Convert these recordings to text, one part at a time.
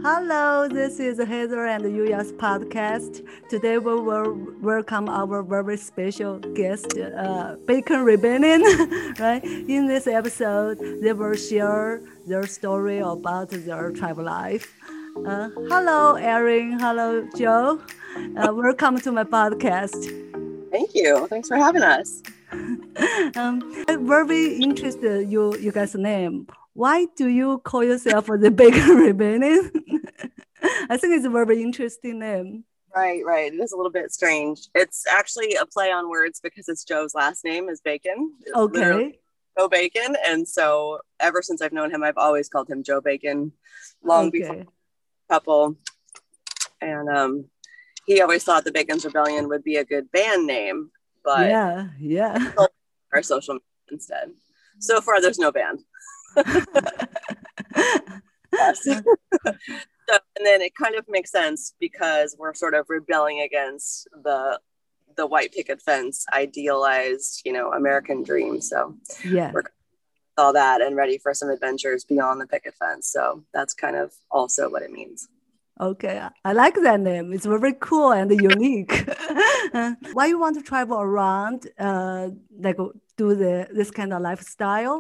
Hello, this is Heather and Yuya's podcast. Today we will welcome our very special guest, Bacon Rebellion. Right? In this episode, they will share their story about their travel life. Hello, Erin. Hello, Joe. Welcome to my podcast. Thank you. Thanks for having us. I'm very interested you guys' name. Why do you call yourself the Bacon Rebellion? I think it's a very interesting name. Right. It is a little bit strange. It's actually a play on words because it's Joe's last name is Bacon. Okay. Joe Bacon. And so ever since I've known him, I've always called him Joe Bacon long before couple. And he always thought the Bacon's Rebellion would be a good band name, but yeah. Our social media instead. So far, there's no band. Yes. So, and then it kind of makes sense because we're sort of rebelling against the white picket fence idealized, American dream. So we're all that and ready for some adventures beyond the picket fence. So that's kind of also what it means. Okay, I like that name. It's very cool and unique. Why you want to travel around, like do this kind of lifestyle?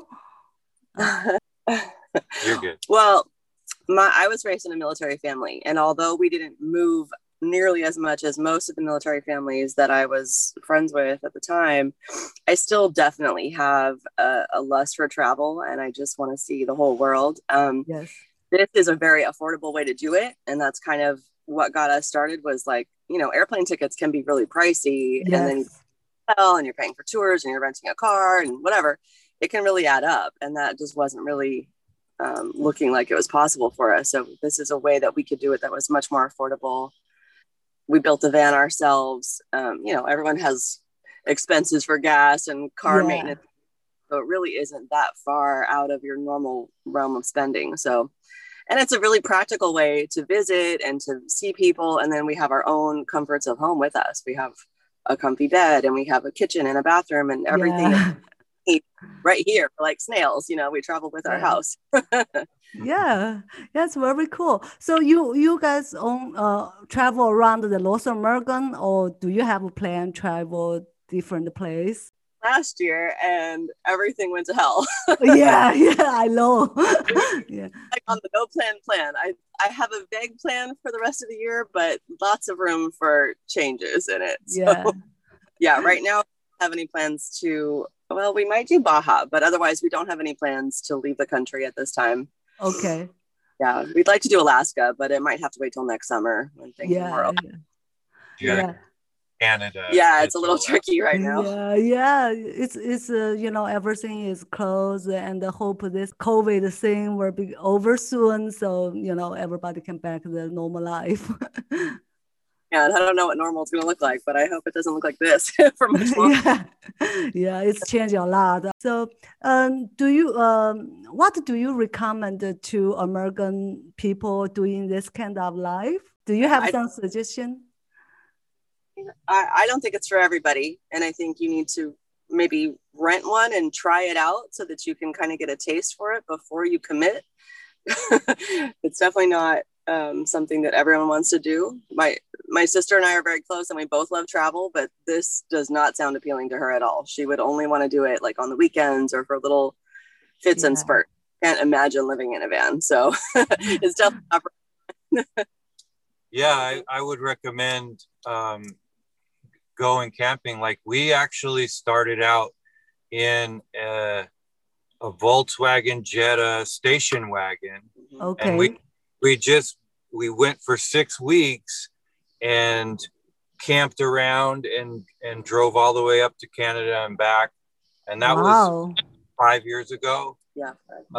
You're good. Well, I was raised in a military family, and although we didn't move nearly as much as most of the military families that I was friends with at the time, I still definitely have a lust for travel, and I just want to see the whole world. Yes. This is a very affordable way to do it. And that's kind of what got us started was like, airplane tickets can be really pricey. Yes. And then you're paying for tours and you're renting a car and whatever. It can really add up. And that just wasn't really looking like it was possible for us. So this is a way that we could do it that was much more affordable. We built a van ourselves. Everyone has expenses for gas and car maintenance. So it really isn't that far out of your normal realm of spending. So, and it's a really practical way to visit and to see people. And then we have our own comforts of home with us. We have a comfy bed and we have a kitchen and a bathroom and everything right here. We're like snails, we travel with our house. Yeah, that's very cool. So you guys travel around the North American, or do you have a plan travel different place? Last year, and everything went to hell. yeah, I know. Yeah, like on the no plan. I have a vague plan for the rest of the year, but lots of room for changes in it. So, right now, I don't have any plans to. Well, we might do Baja, but otherwise, we don't have any plans to leave the country at this time. Okay. Yeah, we'd like to do Alaska, but it might have to wait till next summer when things are more open. Yeah. Canada. Yeah, it's a little tricky right now. Yeah. It's everything is closed, and I hope this COVID thing will be over soon, so everybody can back to their normal life. Yeah, I don't know what normal is going to look like, but I hope it doesn't look like this for much longer. Yeah, it's changing a lot. So, what do you recommend to American people doing this kind of life? Do you have some suggestion? I don't think it's for everybody. And I think you need to maybe rent one and try it out so that you can kind of get a taste for it before you commit. It's definitely not something that everyone wants to do. My sister and I are very close and we both love travel, but this does not sound appealing to her at all. She would only want to do it like on the weekends or for little fits and spurts. Can't imagine living in a van. So it's definitely not for Yeah, I would recommend going camping. Like we actually started out in a Volkswagen Jetta station wagon. Okay. And we went for 6 weeks and camped around and drove all the way up to Canada and back. And that was 5 years ago. Yeah.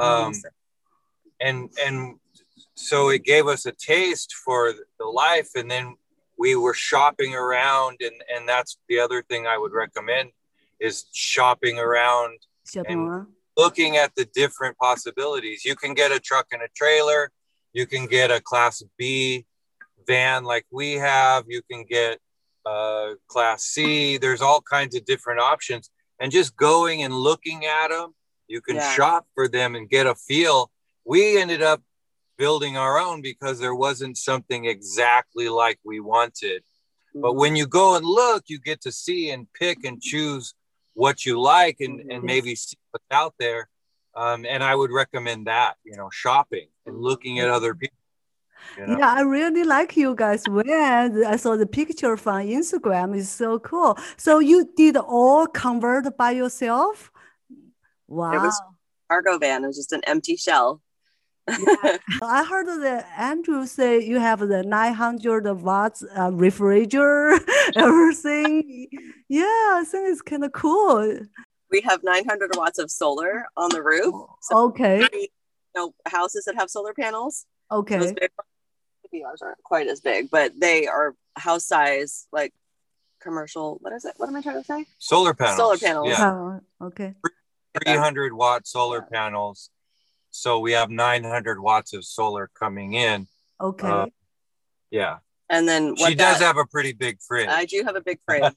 And so it gave us a taste for the life. And then we were shopping around, and that's the other thing I would recommend is shopping around and looking at the different possibilities. You can get a truck and a trailer. You can get a Class B van like we have. You can get Class C. There's all kinds of different options. And just going and looking at them, you can shop for them and get a feel. We ended up building our own because there wasn't something exactly like we wanted. But when you go and look, you get to see and pick and choose what you like and maybe see what's out there. And I would recommend that, shopping and looking at other people. Yeah, I really like you guys wear. I saw the picture from Instagram. It's so cool. So you did all convert by yourself? Wow. It was a cargo van. It was just an empty shell. Yeah. I heard that Andrew say you have the 900 watts refrigerator, everything. Yeah, I think it's kind of cool. We have 900 watts of solar on the roof. So okay. Houses that have solar panels. Okay. So maybe ours aren't quite as big, but they are house size, like commercial. What is it? What am I trying to say? Solar panels. Solar panels. Yeah. Okay. 300 watt solar panels. So we have 900 watts of solar coming in. Okay. Yeah. And then she does have a pretty big fridge. I do have a big fridge.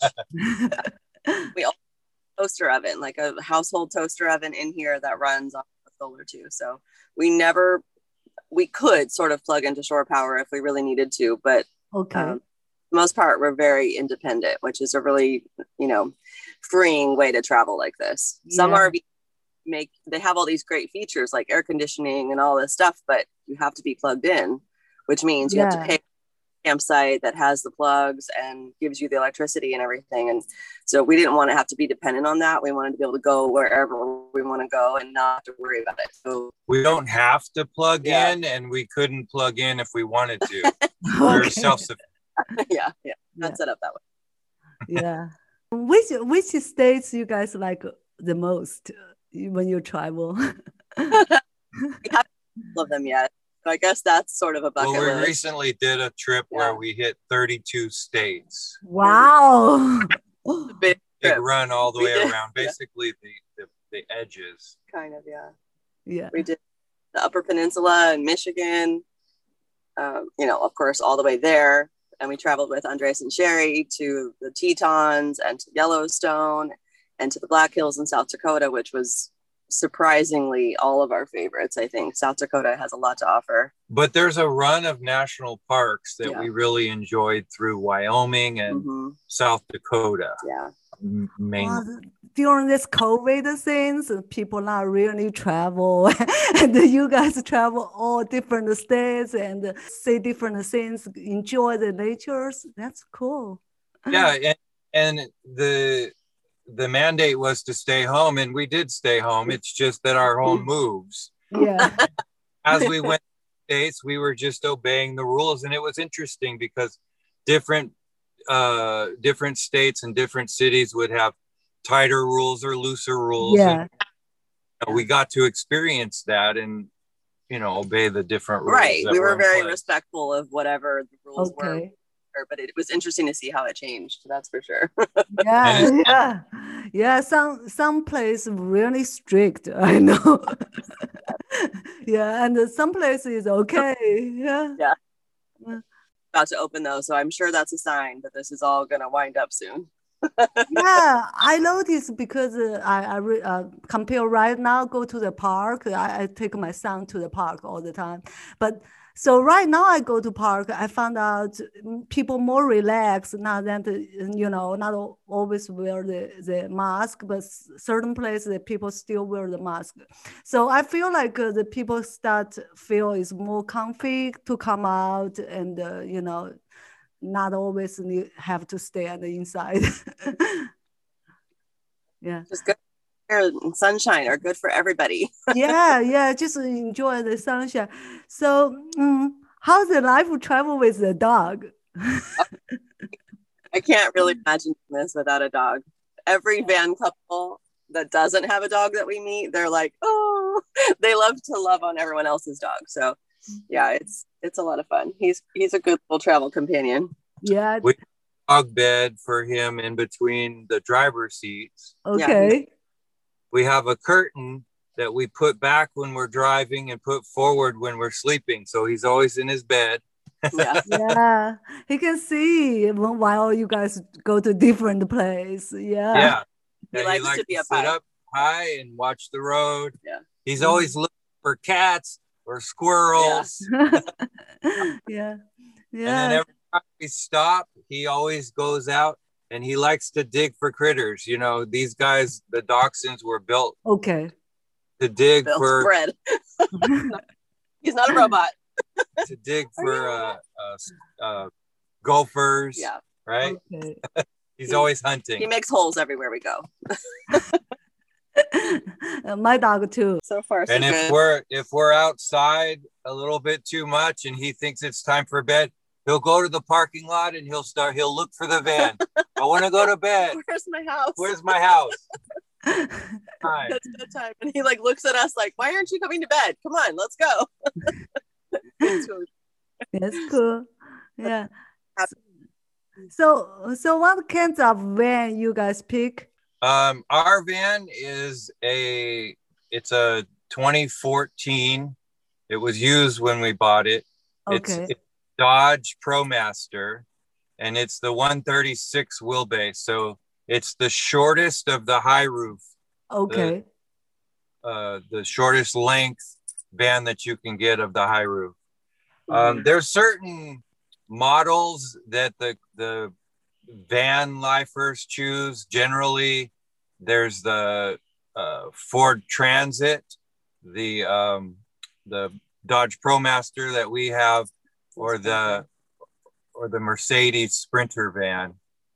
We also have a toaster oven, like a household toaster oven in here that runs off of solar too. So we could sort of plug into shore power if we really needed to, but okay. For the most part, we're very independent, which is a really, freeing way to travel like this. Some RVs they have all these great features like air conditioning and all this stuff, but you have to be plugged in, which means you have to pay a campsite that has the plugs and gives you the electricity and everything. And so we didn't want to have to be dependent on that. We wanted to be able to go wherever we want to go and not have to worry about it. So we don't have to plug in, and we couldn't plug in if we wanted to. We're self-sufficient. Yeah. Not set up that way. Yeah. Which states you guys like the most when you travel? We haven't all of them yet. So I guess that's sort of a bucket list. Well, we recently did a trip where we hit 32 states. Wow. Big run all the way around, basically the edges. Kind of, Yeah. We did the Upper Peninsula in Michigan, of course, all the way there. And we traveled with Andres and Sherry to the Tetons and to Yellowstone and to the Black Hills in South Dakota, which was surprisingly all of our favorites. I think South Dakota has a lot to offer. But there's a run of national parks that we really enjoyed through Wyoming and South Dakota. Yeah. During this COVID things, people not really travel, and you guys travel all different states and see different things, enjoy the natures. That's cool. Yeah, and the mandate was to stay home, and we did stay home. It's just that our home moves. Yeah. As we went to the States, we were just obeying the rules, and it was interesting because different states and different cities would have tighter rules or looser rules. Yeah. And, we got to experience that and, obey the different rules. Right. We were very respectful of whatever the rules were. But it was interesting to see how it changed. That's for sure. Yeah. Some place really strict. I know. Yeah, and some places okay. Yeah. About to open though, so I'm sure that's a sign that this is all going to wind up soon. Yeah, I noticed because I compare right now, go to the park. I take my son to the park all the time. But so right now I go to park, I found out people more relaxed, not that, not always wear the mask, but certain places the people still wear the mask. So I feel like the people feel it's more comfy to come out and, not always have to stay on the inside. Yeah. Just good air and sunshine are good for everybody. Yeah. Just enjoy the sunshine. So how's the life of travel with the dog? I can't really imagine this without a dog. Every van couple that doesn't have a dog that we meet, they're like, oh, they love to love on everyone else's dog. So yeah, it's a lot of fun. He's a good little travel companion. Yeah. We dog bed for him in between the driver's seats. Okay. Yeah. We have a curtain that we put back when we're driving and put forward when we're sleeping. So he's always in his bed. Yeah. He can see while you guys go to different place. Yeah. He likes to be sit up high and watch the road. Yeah. He's always looking for cats. or squirrels. Yeah. And then every time we stop, he always goes out and he likes to dig for critters. You know, these guys, the dachshunds, were built Okay. to dig Built for bread. He's not a robot. to dig for gophers. Yeah. Right. Okay. He's always hunting. He makes holes everywhere we go. My dog too. So far, so And good. if we're outside a little bit too much and he thinks it's time for bed, he'll go to the parking lot and he'll look for the van. I want to go to bed. Where's my house? Where's my house? Time. That's bedtime. And he like looks at us like, why aren't you coming to bed? Come on, let's go. That's cool. Yeah. So what kinds of van you guys pick? Our van is it's a 2014. It was used when we bought it. Okay. It's Dodge ProMaster, and it's the 136 wheelbase. So it's the shortest of the high roof. Okay. The shortest length van that you can get of the high roof. There's certain models that the van lifers choose. Generally, there's the Ford Transit, the Dodge ProMaster that we have, or the Mercedes Sprinter van.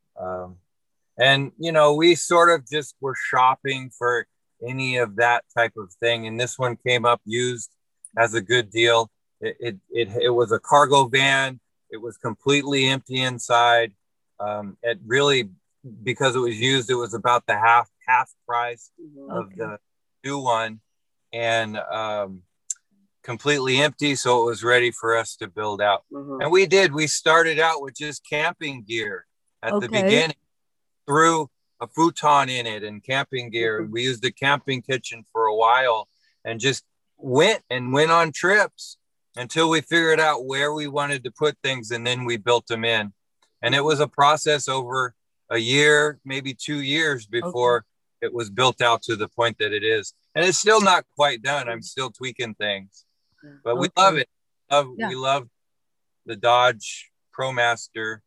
And you know, we sort of just were shopping for any of that type of thing, and this one came up used as a good deal. It was a cargo van. It was completely empty inside. It really, because it was used, it was about the half price of the new one, and completely empty. So it was ready for us to build out. And we did. We started out with just camping gear at the beginning, threw a futon in it and camping gear. And we used the camping kitchen for a while and just went on trips until we figured out where we wanted to put things. And then we built them in. And it was a process over a year, maybe 2 years before it was built out to the point that it is. And it's still not quite done. I'm still tweaking things, but we love it. We love the Dodge ProMaster.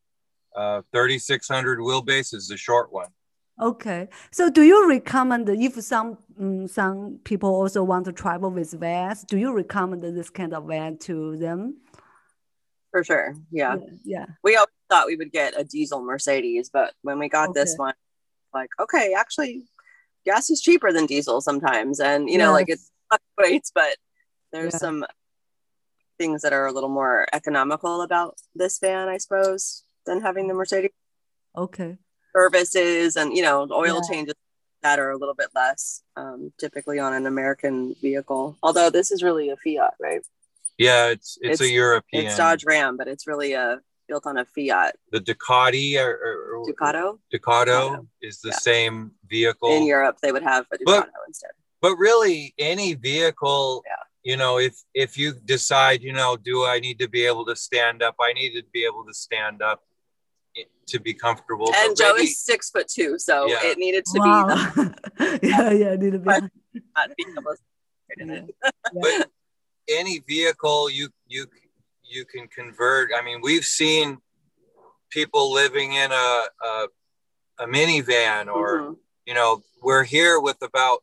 3600 wheelbase is the short one. Okay. So do you recommend, if some people also want to travel with vans, do you recommend this kind of van to them? For sure. Yeah. Yeah. We always thought we would get a diesel Mercedes, but when we got this one, like, okay, actually gas is cheaper than diesel sometimes. And, you know, like it fluctuates, but there's some things that are a little more economical about this van, I suppose, than having the Mercedes. Okay. Services and, you know, oil changes that are a little bit less typically on an American vehicle. Although this is really a Fiat, right? Yeah, it's a European. It's Dodge Ram, but it's really built on a Fiat. The Ducati or Ducato is the same vehicle. In Europe, they would have a Ducato instead. But really, any vehicle, you know, if you decide, you know, do I need to be able to stand up? I need to be able to stand up to be comfortable. And Joe is 6'2", so it needed to be. It needed to be. Not being able to fit in it. But any vehicle you can convert. I mean, we've seen people living in a minivan, or you know, we're here with about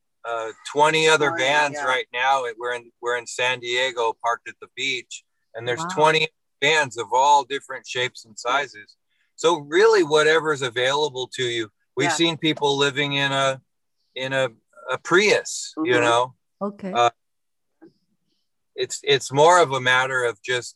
20 other vans right now. We're in San Diego, parked at the beach, and there's 20 vans of all different shapes and sizes. So really, whatever's available to you. We've seen people living in a Prius. You know. Okay. It's more of a matter of just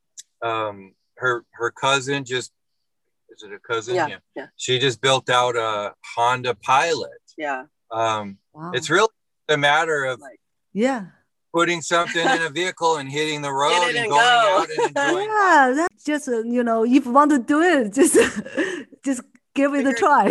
her cousin just, is it a cousin? Yeah. She just built out a Honda Pilot. Yeah. It's really a matter of putting something in a vehicle and hitting the road and going out and enjoying. Yeah, that's just you know, if you want to do it, just give it a try.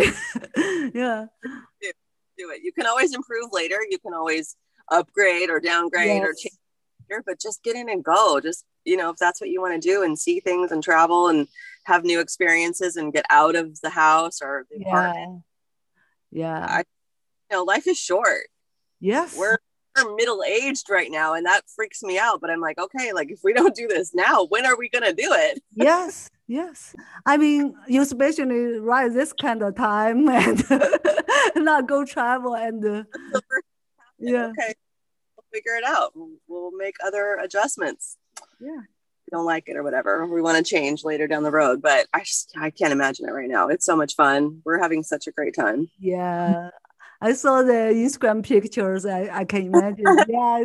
Do it. You can always improve later. You can always upgrade or downgrade or change. But just get in and go. Just, you know, if that's what you want to do and see things and travel and have new experiences and get out of the house or the apartment. Yeah. You know, life is short. Yes. We're we're middle-aged right now, and that freaks me out. But I'm like, okay, like if we don't do this now, when are we gonna do it? Yes, yes. I mean, you especially right this kind of time and not go travel and yeah. Okay, we'll figure it out. We'll make other adjustments. Yeah. We don't like it or whatever. We want to change later down the road, but I can't imagine it right now. It's so much fun. We're having such a great time. Yeah. I saw the Instagram pictures. I can imagine. Yeah,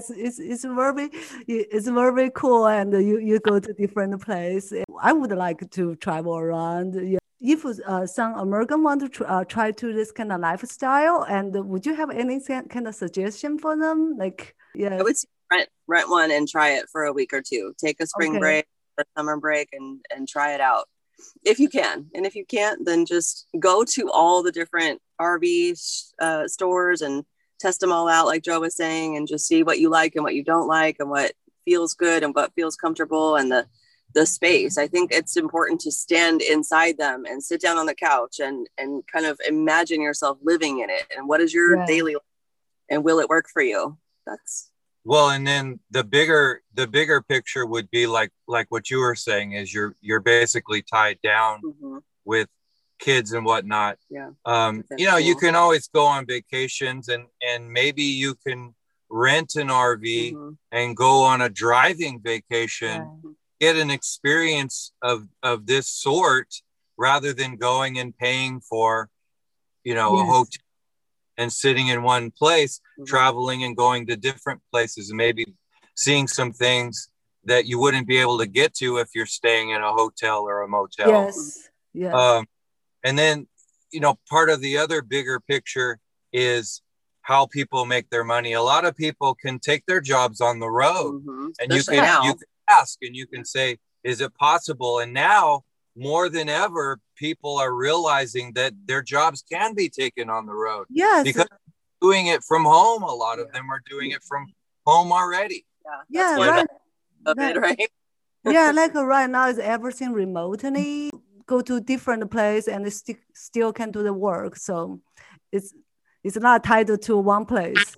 it's very cool, and you go to different place. I would like to travel around. Yeah. If some American want to try to this kind of lifestyle, and would you have any kind of suggestion for them? Like, yeah, I would say rent one and try it for a week or two. Take a spring break, a summer break, and try it out if you can. And if you can't, then just go to all the different RV stores and test them all out, like Joe was saying, and just see what you like and what you don't like and what feels good and what feels comfortable, and the space. I think it's important to stand inside them and sit down on the couch and kind of imagine yourself living in it. And what is your daily life, and will it work for you? That's well, and then the bigger picture would be like what you were saying is you're basically tied down with kids and whatnot. Yeah. You know, you can always go on vacations and maybe you can rent an RV and go on a driving vacation, get an experience of this sort rather than going and paying for, you know, a hotel and sitting in one place, traveling and going to different places and maybe seeing some things that you wouldn't be able to get to if you're staying in a hotel or a motel. Yes. Yes. And then, you know, part of the other bigger picture is how people make their money. A lot of people can take their jobs on the road, and you can ask and you can say, is it possible? And now more than ever, people are realizing that their jobs can be taken on the road. Yes. Because doing it from home, a lot of them are doing it from home already. Yeah. Right. Yeah, like right now is everything remotely. Go to different place and still can do the work. So it's not tied to one place.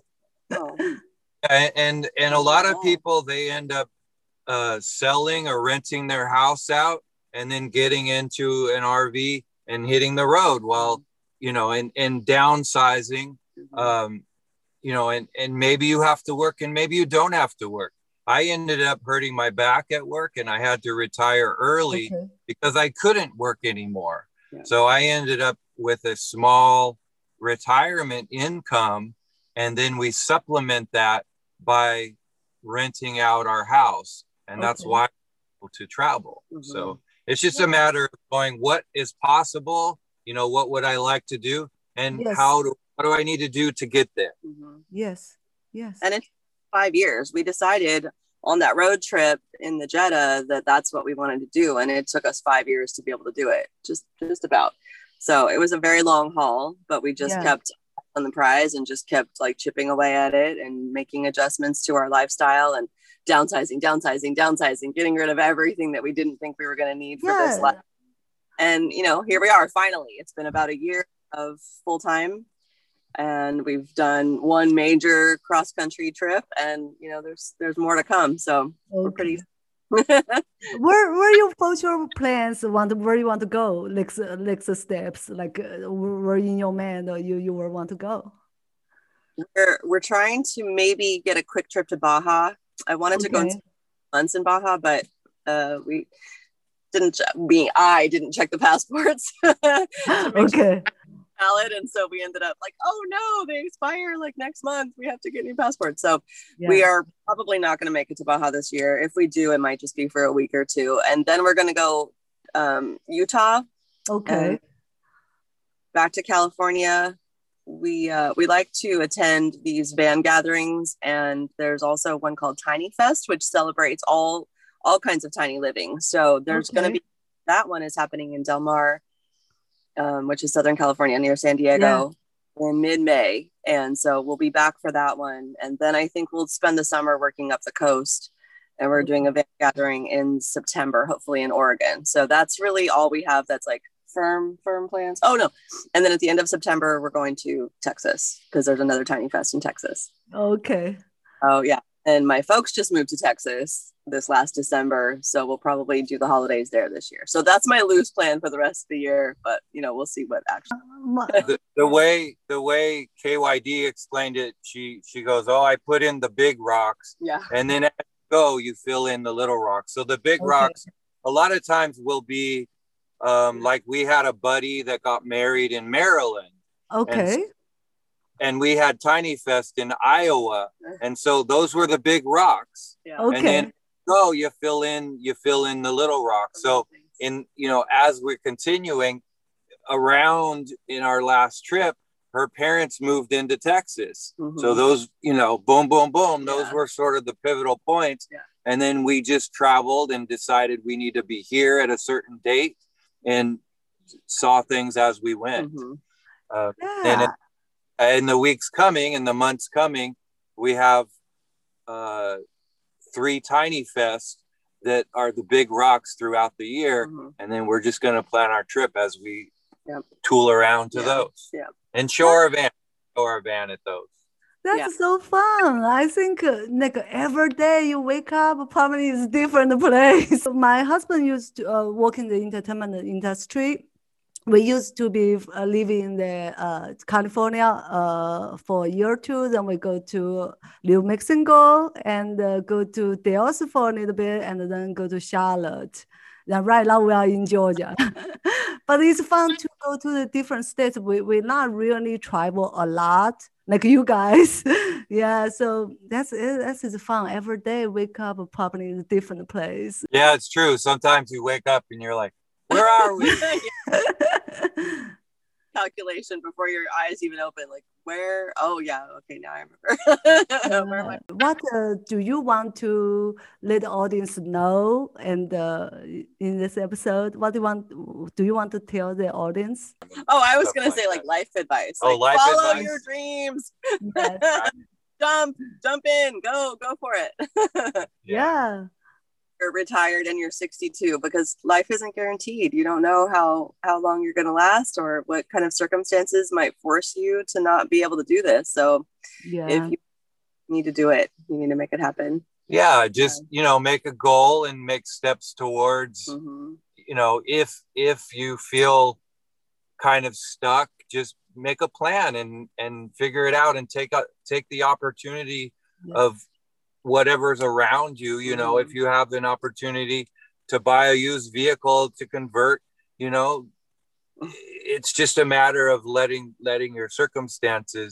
And a lot of people, they end up selling or renting their house out and then getting into an RV and hitting the road while, you know, and downsizing, you know, and maybe you have to work and maybe you don't have to work. I ended up hurting my back at work and I had to retire early because I couldn't work anymore. So I ended up with a small retirement income, and then we supplement that by renting out our house. And that's why I'm able to travel. So it's just a matter of going, what is possible? You know, what would I like to do? And what do I need to do to get there? Yes. Yes. And it's 5 years. We decided on that road trip in the Jetta that that's what we wanted to do. And it took us 5 years to be able to do it. Just about. So it was a very long haul, but we just kept on the prize and just kept like chipping away at it and making adjustments to our lifestyle and downsizing, getting rid of everything that we didn't think we were going to need for this life. And, you know, here we are, finally. It's been about a year of full time, and we've done one major cross country trip, and, you know, there's more to come. So we're pretty. where your future plans where you want to go, next steps, like where in your mind you will want to go? We're trying to maybe get a quick trip to Baja. I wanted to go months in Baja, but we didn't. I didn't check the passports. Valid, and so we ended up like, oh no, they expire like next month. We have to get new passports. So we are probably not going to make it to Baja this year. If we do, it might just be for a week or two, and then we're going to go Utah. Back to California. We like to attend these van gatherings, and there's also one called Tiny Fest, which celebrates all kinds of tiny living. So there's going to be, that one is happening in Del Mar, which is Southern California near San Diego in mid-May. And so we'll be back for that one. And then I think we'll spend the summer working up the coast, and we're doing a van gathering in September, hopefully in Oregon. So that's really all we have. That's like firm plans. Oh no. And then at the end of September, we're going to Texas because there's another Tiny Fest in Texas. Okay. Oh yeah. And my folks just moved to Texas this last December, so we'll probably do the holidays there this year. So that's my loose plan for the rest of the year, but we'll see what actually. The way KYD explained it, she goes, "Oh, I put in the big rocks, Yeah. and then as you go, you fill in the little rocks." So the big rocks, a lot of times, will be like we had a buddy that got married in Maryland. Okay. And we had Tiny Fest in Iowa, and so those were the big rocks. Yeah. Okay. And then you fill in the little rocks. So as we're continuing around in our last trip, her parents moved into Texas. Mm-hmm. So those, boom, boom, boom, those were sort of the pivotal points. Yeah. And then we just traveled and decided we need to be here at a certain date and saw things as we went. Mm-hmm. And in the weeks coming, in the months coming, we have 3 Tiny Fests that are the big rocks throughout the year. Mm-hmm. And then we're just going to plan our trip as we tool around to those. Yeah. And show our van at those. That's so fun. I think every day you wake up, probably is different place. My husband used to work in the entertainment industry. We used to be living in the California for a year or two. Then we go to New Mexico and go to Dallas for a little bit, and then go to Charlotte. Then right now we are in Georgia. But it's fun to go to the different states. We not really travel a lot like you guys. Yeah, so that's fun. Every day wake up probably in a different place. Yeah, it's true. Sometimes you wake up and you're like, where are we? Calculation before your eyes even open, like where? Oh yeah, okay, now I remember. What do you want to let the audience know? And in this episode, what do you want to tell the audience? Oh, I was gonna say like life advice. Like, life follow advice. Your dreams. Yes. jump in, go for it. Yeah. You're retired and you're 62, because life isn't guaranteed. You don't know how long you're going to last or what kind of circumstances might force you to not be able to do this. So if you need to do it, you need to make it happen. Yeah, just make a goal and make steps towards if you feel kind of stuck, just make a plan and figure it out and take the opportunity of whatever's around you. If you have an opportunity to buy a used vehicle to convert, it's just a matter of letting your circumstances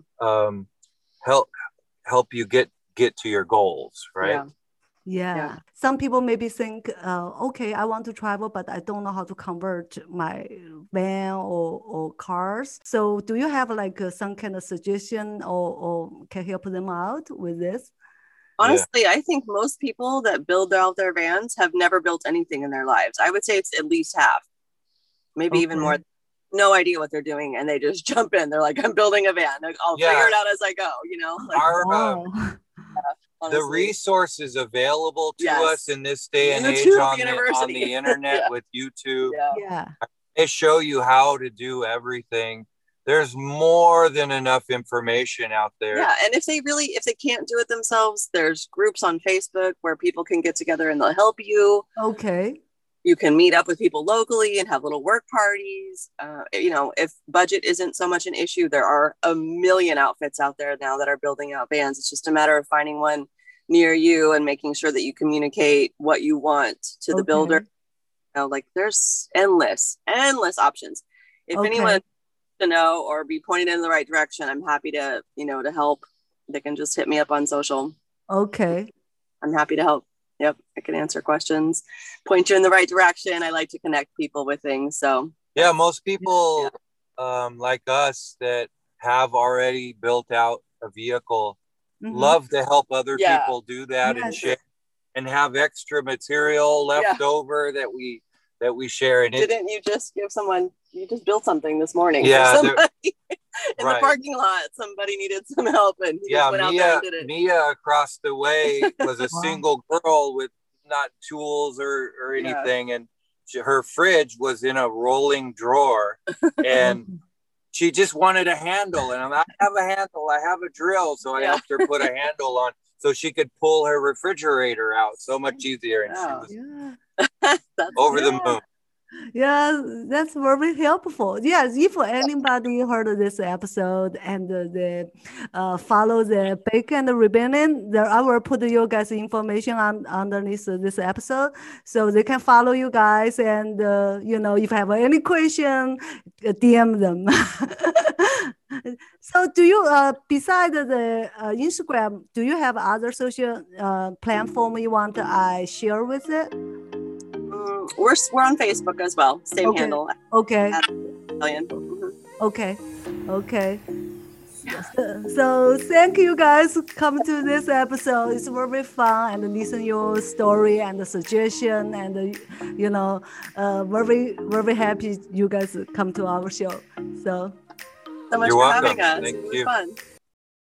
help you get to your goals, right? Yeah. Some people maybe think, okay, I want to travel, but I don't know how to convert my van or cars. So do you have like some kind of suggestion or can help them out with this? Honestly, I think most people that build out their vans have never built anything in their lives. I would say it's at least half, maybe even more. No idea what they're doing, and they just jump in. They're like, I'm building a van. I'll figure it out as I go, the resources available to us in this day and age on the internet with YouTube. They show you how to do everything. There's more than enough information out there. Yeah, and if they can't do it themselves, there's groups on Facebook where people can get together and they'll help you. Okay. You can meet up with people locally and have little work parties. If budget isn't so much an issue, there are a million outfits out there now that are building out vans. It's just a matter of finding one near you and making sure that you communicate what you want to the builder. There's endless options. If anyone to know or be pointed in the right direction, I'm happy to help. They can just hit me up on social. Okay. I'm happy to help. Yep, I can answer questions, point you in the right direction. I like to connect people with things. So yeah, most people like us that have already built out a vehicle love to help other people do that and share and have extra material left over that we share. And didn't you just give someone? You just built something this morning. Yeah, in the parking lot. Somebody needed some help, and he just went out there and did it. Mia across the way was a single girl with not tools or anything, and her fridge was in a rolling drawer, and she just wanted a handle, and I have a handle, I have a drill, so I helped her put a handle on so she could pull her refrigerator out so much easier, and she was over the moon. Yeah, that's very helpful. Yes, if anybody heard of this episode and follow the Bacon Rebellion, I will put you guys information underneath this episode, so they can follow you guys. And if you have any question, DM them. So, do you beside the Instagram, do you have other social platform you want I share with it? We're on Facebook as well. Same handle. Okay. Okay. So thank you guys for coming to this episode. It's very fun and listen your story and the suggestion and very very happy you guys come to our show. So much You're for welcome. having us. Thank it was you. fun.